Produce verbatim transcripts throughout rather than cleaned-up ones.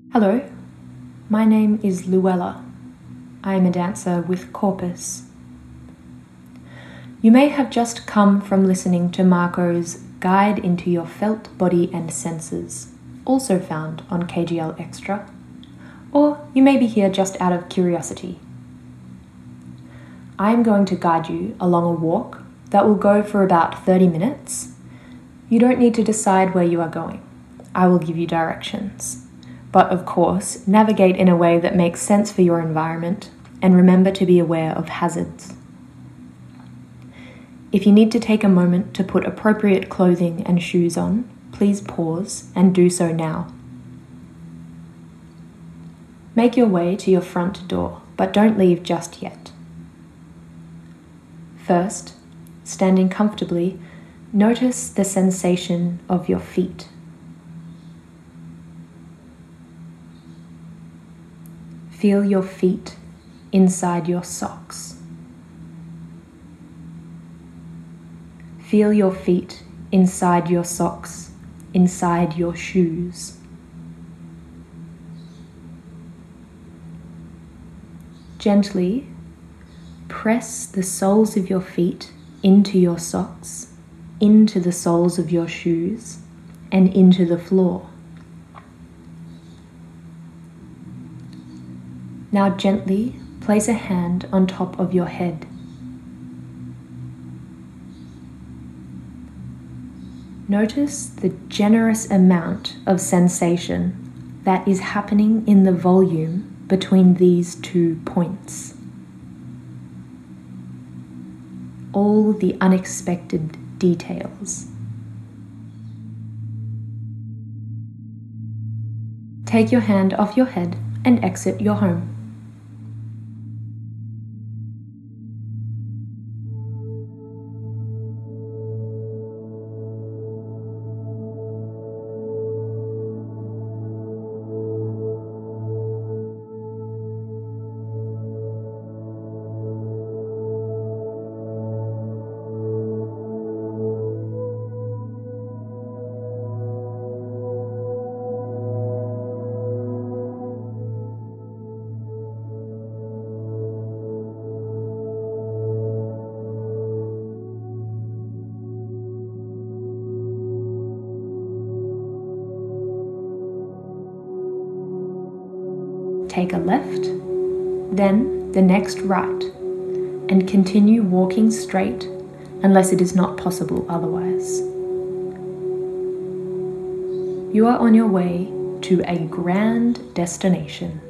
Hello, my name is Luella. I am a dancer with Corpus. You may have just come from listening to Marco's Guide into Your Felt Body and Senses, also found on K G L Extra, or you may be here just out of curiosity. I am going to guide you along a walk that will go for about thirty minutes. You don't need to decide where you are going. I will give you directions. But of course, navigate in a way that makes sense for your environment, and remember to be aware of hazards. If you need to take a moment to put appropriate clothing and shoes on, please pause and do so now. Make your way to your front door, but don't leave just yet. First, standing comfortably, notice the sensation of your feet. Feel your feet inside your socks. Feel your feet inside your socks, inside your shoes. Gently press the soles of your feet into your socks, into the soles of your shoes, and into the floor. Now gently place a hand on top of your head. Notice the generous amount of sensation that is happening in the volume between these two points. All the unexpected details. Take your hand off your head and exit your home. Take a left, then the next right, and continue walking straight unless it is not possible otherwise. You are on your way to a grand destination.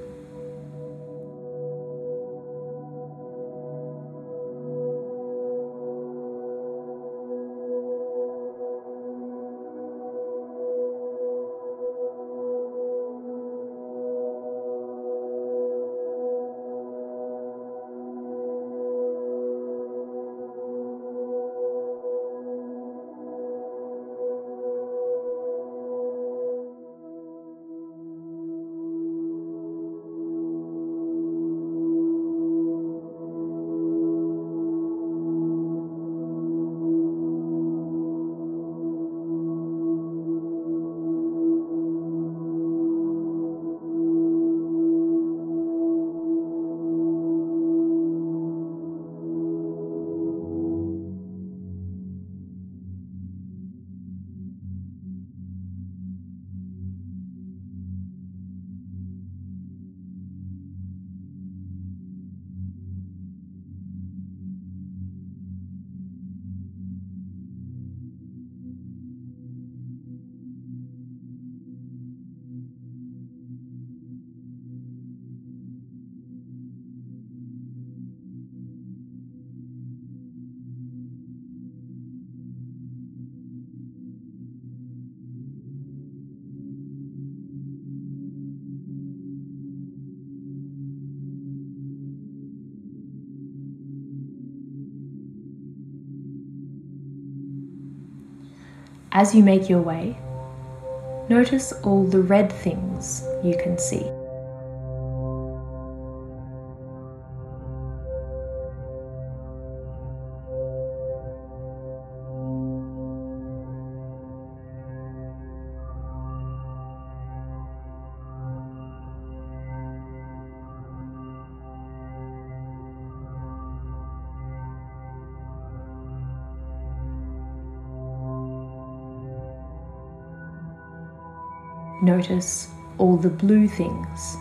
As you make your way, notice all the red things you can see. Notice all the blue things.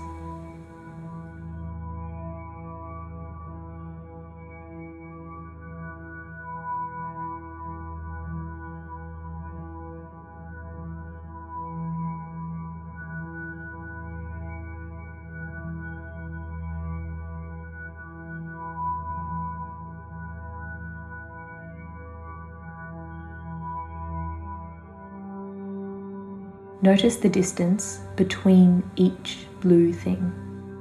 Notice the distance between each blue thing.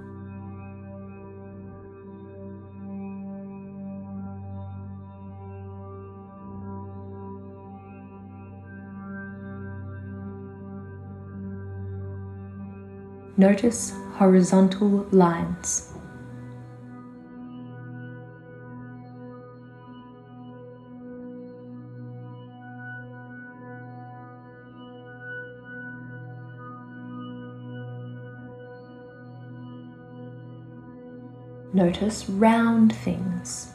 Notice horizontal lines. Notice round things.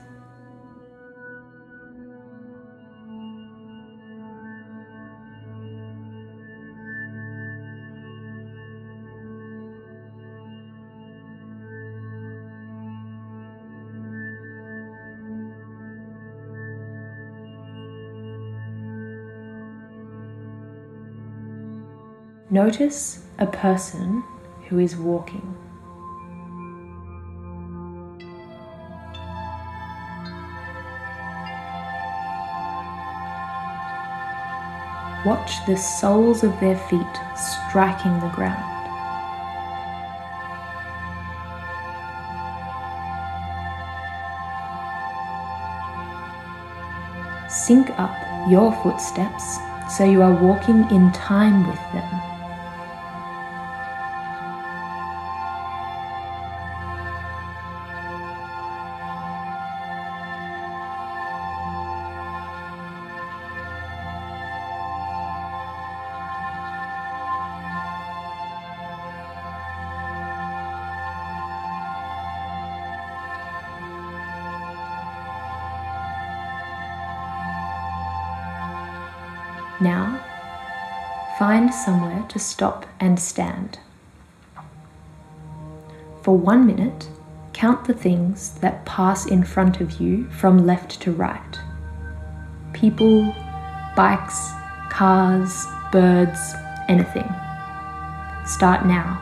Notice a person who is walking. Watch the soles of their feet striking the ground. Sync up your footsteps so you are walking in time with them. Now, find somewhere to stop and stand. For one minute, count the things that pass in front of you from left to right. People, bikes, cars, birds, anything. Start now.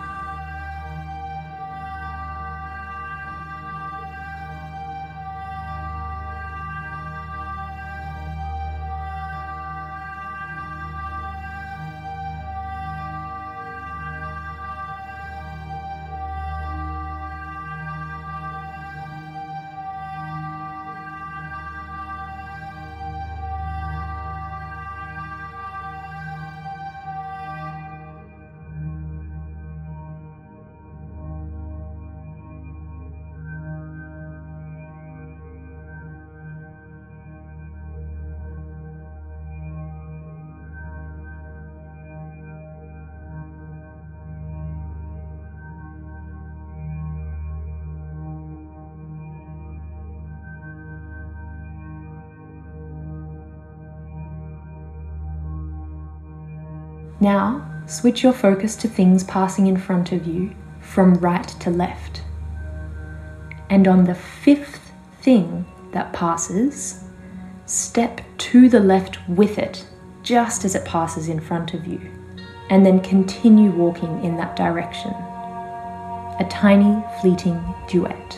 Now, switch your focus to things passing in front of you from right to left. And on the fifth thing that passes, step to the left with it, just as it passes in front of you, and then continue walking in that direction. A tiny, fleeting duet.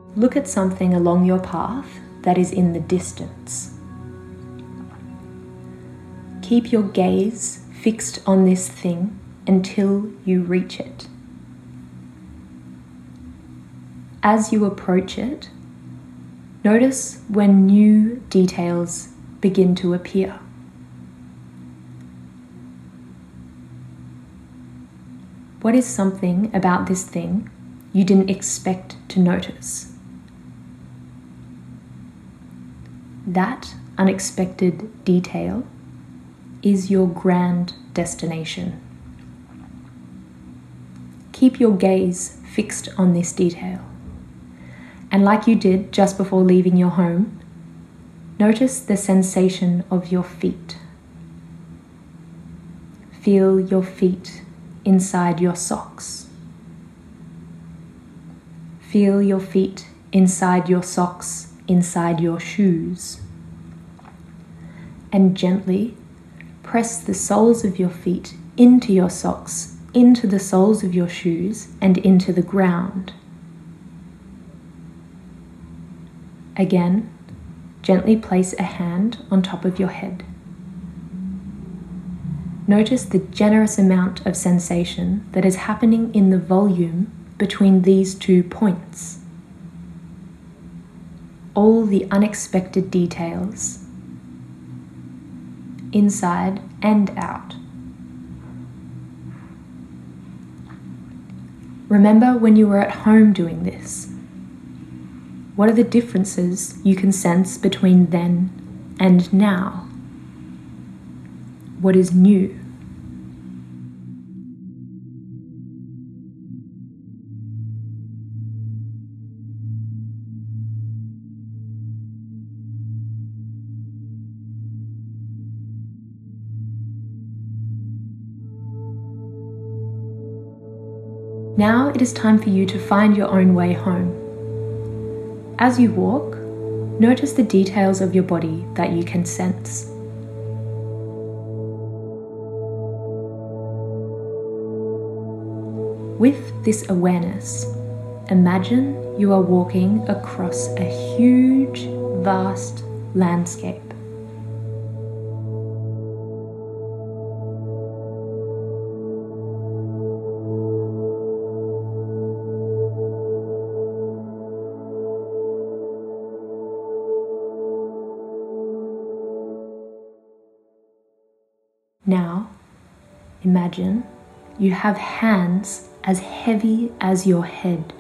Look at something along your path that is in the distance. Keep your gaze fixed on this thing until you reach it. As you approach it, notice when new details begin to appear. What is something about this thing you didn't expect to notice? That unexpected detail is your grand destination. Keep your gaze fixed on this detail. And like you did just before leaving your home, notice the sensation of your feet. Feel your feet inside your socks. Feel your feet inside your socks, inside your shoes. And gently press the soles of your feet into your socks, into the soles of your shoes, and into the ground. Again, gently place a hand on top of your head. Notice the generous amount of sensation that is happening in the volume between these two points. All the unexpected details, inside and out. Remember when you were at home doing this. What are the differences you can sense between then and now? What is new? Now it is time for you to find your own way home. As you walk, notice the details of your body that you can sense. With this awareness, imagine you are walking across a huge, vast landscape. Now, imagine you have hands as heavy as your head.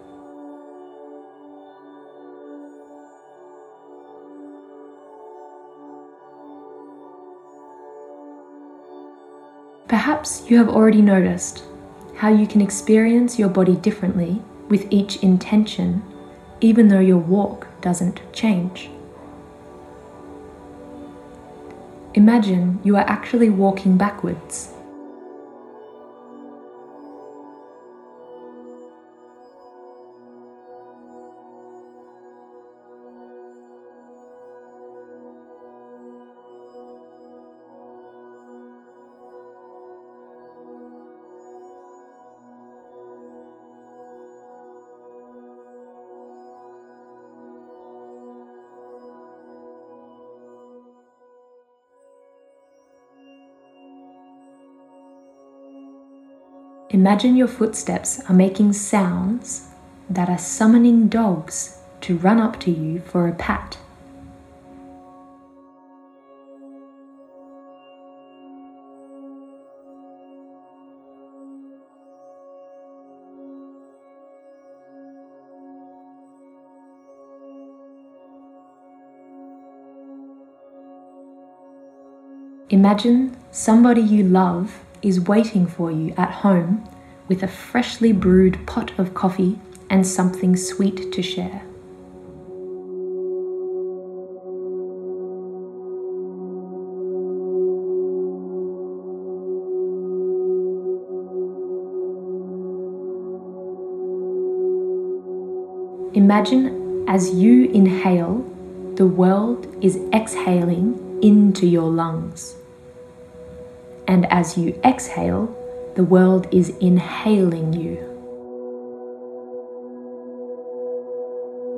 Perhaps you have already noticed how you can experience your body differently with each intention, even though your walk doesn't change. Imagine you are actually walking backwards. Imagine your footsteps are making sounds that are summoning dogs to run up to you for a pat. Imagine somebody you love is waiting for you at home with a freshly brewed pot of coffee and something sweet to share. Imagine as you inhale, the world is exhaling into your lungs. And as you exhale, the world is inhaling you.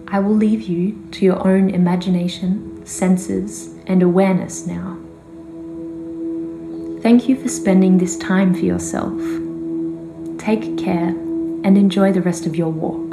I will leave you to your own imagination, senses, and awareness now. Thank you for spending this time for yourself. Take care and enjoy the rest of your walk.